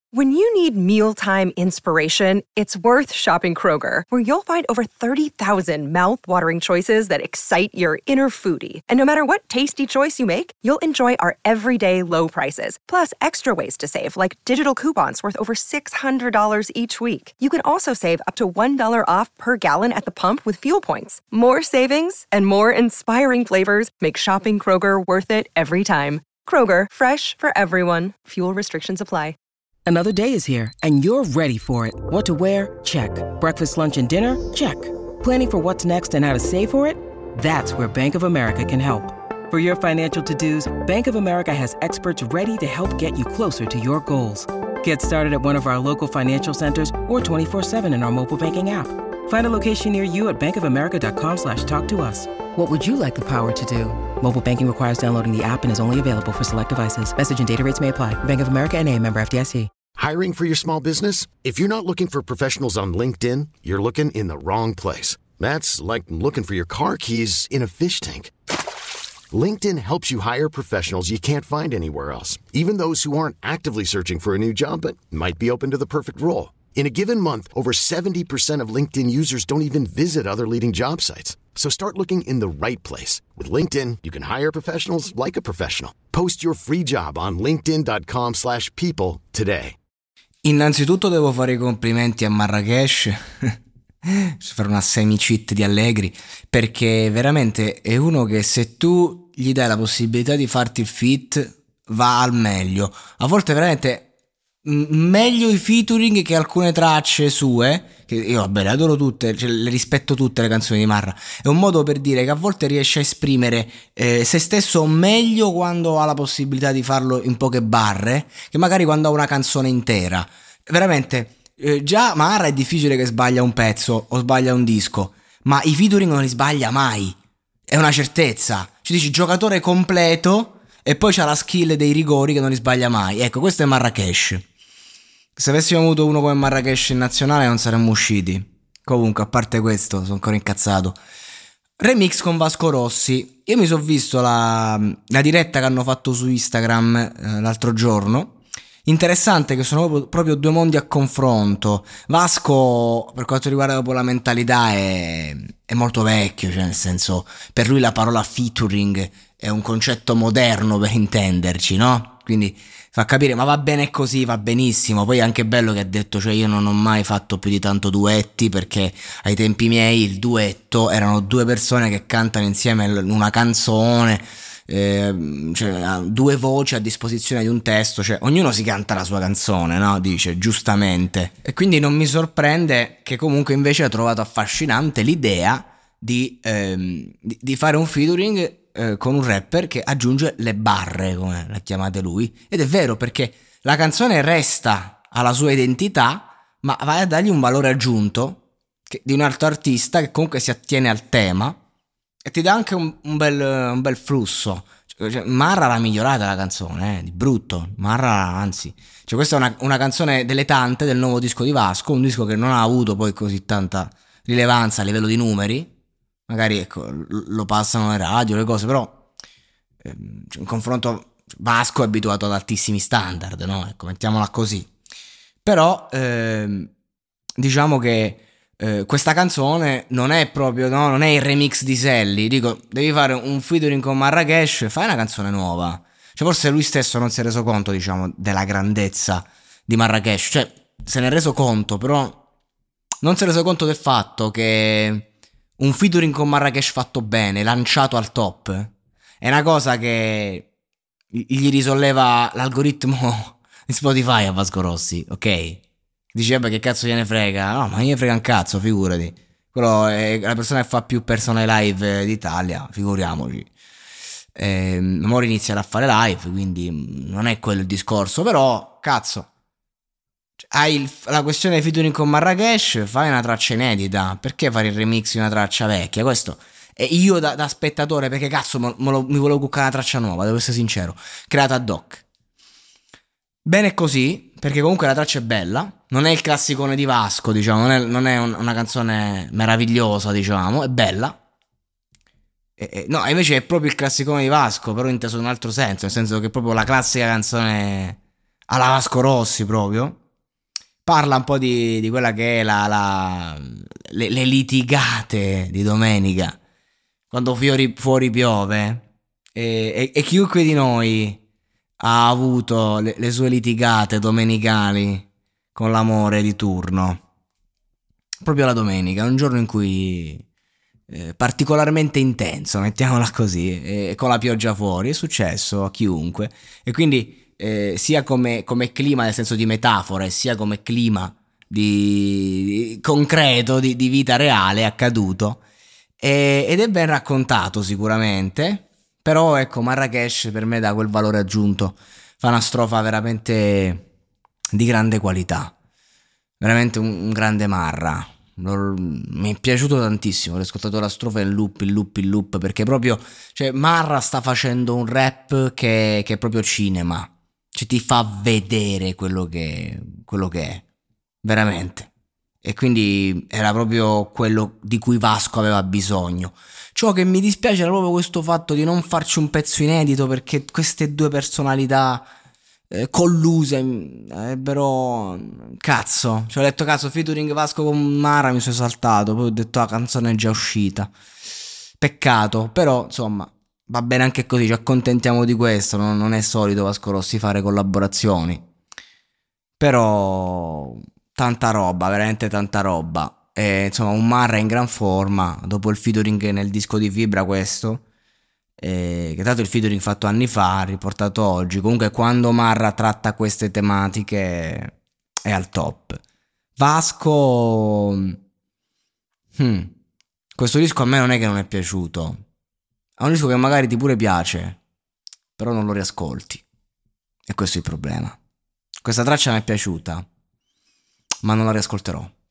When you need mealtime inspiration, it's worth shopping Kroger, where you'll find over 30,000 mouth-watering choices that excite your inner foodie. And no matter what tasty choice you make, you'll enjoy our everyday low prices, plus extra ways to save, like digital coupons worth over $600 each week. You can also save up to $1 off per gallon at the pump with fuel points. More savings and more inspiring flavors make shopping Kroger worth it every time. Kroger, fresh for everyone. Fuel restrictions apply. Another day is here, and you're ready for it. What to wear? Check. Breakfast, lunch, and dinner? Check. Planning for what's next and how to save for it? That's where Bank of America can help. For your financial to-dos, Bank of America has experts ready to help get you closer to your goals. Get started at one of our local financial centers or 24/7 in our mobile banking app. Find a location near you at bankofamerica.com/talktous. What would you like the power to do? Mobile banking requires downloading the app and is only available for select devices. Message and data rates may apply. Bank of America N.A., member FDIC. Hiring for your small business? If you're not looking for professionals on LinkedIn, you're looking in the wrong place. That's like looking for your car keys in a fish tank. LinkedIn helps you hire professionals you can't find anywhere else, even those who aren't actively searching for a new job but might be open to the perfect role. In a given month, over 70% of LinkedIn users don't even visit other leading job sites. So start looking in the right place. With LinkedIn, you can hire professionals like a professional. Post your free job on linkedin.com/people today. Innanzitutto devo fare i complimenti a Marrakesh fare una semi-cheat di Allegri, perché veramente è uno che se tu gli dai la possibilità di farti il feat va al meglio. A volte veramente meglio i featuring che alcune tracce sue, che io vabbè le adoro tutte, cioè, le rispetto tutte le canzoni di Marra. È un modo per dire che a volte riesce a esprimere se stesso meglio quando ha la possibilità di farlo in poche barre, che magari quando ha una canzone intera. Veramente già Marra è difficile che sbaglia un pezzo o sbaglia un disco, ma i featuring non li sbaglia mai, è una certezza. Ci dici giocatore completo e poi c'ha la skill dei rigori che non li sbaglia mai. Ecco, questo è Marrakesh. Se avessimo avuto uno come Marrakesh in nazionale non saremmo usciti. Comunque, a parte questo, sono ancora incazzato. Remix con Vasco Rossi. Io mi sono visto la diretta che hanno fatto su Instagram l'altro giorno. Interessante che sono proprio due mondi a confronto. Vasco, per quanto riguarda proprio la mentalità, è molto vecchio, cioè nel senso, per lui la parola featuring è un concetto moderno, per intenderci, no? Quindi fa capire, ma va bene così, va benissimo. Poi è anche bello che ha detto, cioè io non ho mai fatto più di tanto duetti, perché ai tempi miei il duetto erano due persone che cantano insieme una canzone, cioè due voci a disposizione di un testo, cioè ognuno si canta la sua canzone, no? Dice, giustamente. E quindi non mi sorprende che comunque invece ha trovato affascinante l'idea di fare un featuring con un rapper che aggiunge le barre, come le chiamate lui. Ed è vero, perché la canzone resta alla sua identità, ma vai a dargli un valore aggiunto di un altro artista che comunque si attiene al tema e ti dà anche un bel flusso. Cioè, Marra l'ha migliorata la canzone, di brutto. Marra, anzi, cioè questa è una canzone delle tante del nuovo disco di Vasco, un disco che non ha avuto poi così tanta rilevanza a livello di numeri. Magari ecco, lo passano le radio, le cose, però in confronto Vasco è abituato ad altissimi standard, no? Ecco, mettiamola così. Però diciamo che questa canzone non è proprio, no? Non è il remix di Selli. Dico, devi fare un featuring con Marrakesh, fai una canzone nuova. Cioè forse lui stesso non si è reso conto, diciamo, della grandezza di Marrakesh. Cioè se ne è reso conto, però non si è reso conto del fatto che un featuring con Marrakesh fatto bene, lanciato al top, è una cosa che gli risolleva l'algoritmo di Spotify a Vasco Rossi, ok? Dice, vabbè, che cazzo gliene frega? No, ma gliene frega un cazzo, figurati. Quello è la persona che fa più persone live d'Italia, figuriamoci. Ora inizierà a fare live, quindi non è quello il discorso, però, cazzo, hai la questione featuring con Marrakesh, fai una traccia inedita, perché fare il remix di una traccia vecchia? Questo è io da spettatore, perché cazzo mi volevo cuccare una traccia nuova, devo essere sincero, creata ad hoc. Bene così, perché comunque la traccia è bella, non è il classicone di Vasco, diciamo, non è una canzone meravigliosa, diciamo, è bella. No, invece è proprio il classicone di Vasco, però inteso in un altro senso, nel senso che è proprio la classica canzone alla Vasco Rossi proprio. Parla un po' di quella che è le litigate di domenica, quando fuori piove, e chiunque di noi ha avuto le sue litigate domenicali con l'amore di turno. Proprio la domenica, è un giorno in cui particolarmente intenso, mettiamola così, con la pioggia fuori, è successo a chiunque. E quindi sia come clima, nel senso di metafora, sia come clima di concreto, di vita reale, è accaduto. Ed è ben raccontato sicuramente, però ecco, Marrakesh per me dà quel valore aggiunto, fa una strofa veramente di grande qualità, veramente un grande Marra. Mi è piaciuto tantissimo, ho ascoltato la strofa in loop, in loop, in loop, perché proprio, cioè, Marra sta facendo un rap che è proprio cinema, cioè ti fa vedere quello che è, veramente. E quindi era proprio quello di cui Vasco aveva bisogno. Ciò che mi dispiace era proprio questo fatto di non farci un pezzo inedito, perché queste due personalità colluse ebbero, cazzo, cioè ho detto cazzo, featuring Vasco con Mara, mi sono saltato, poi ho detto la canzone è già uscita, peccato, però insomma va bene anche così, ci accontentiamo di questo, non è solito Vasco Rossi fare collaborazioni, però tanta roba, veramente tanta roba. E, insomma, un Marra in gran forma dopo il featuring nel disco di Fibra, questo che dato il featuring fatto anni fa, riportato oggi. Comunque quando Marra tratta queste tematiche è al top. Vasco, questo disco a me non è che non è piaciuto, è un disco che magari ti pure piace, però non lo riascolti, e questo è il problema. Questa traccia mi è piaciuta, ma non la riascolterò.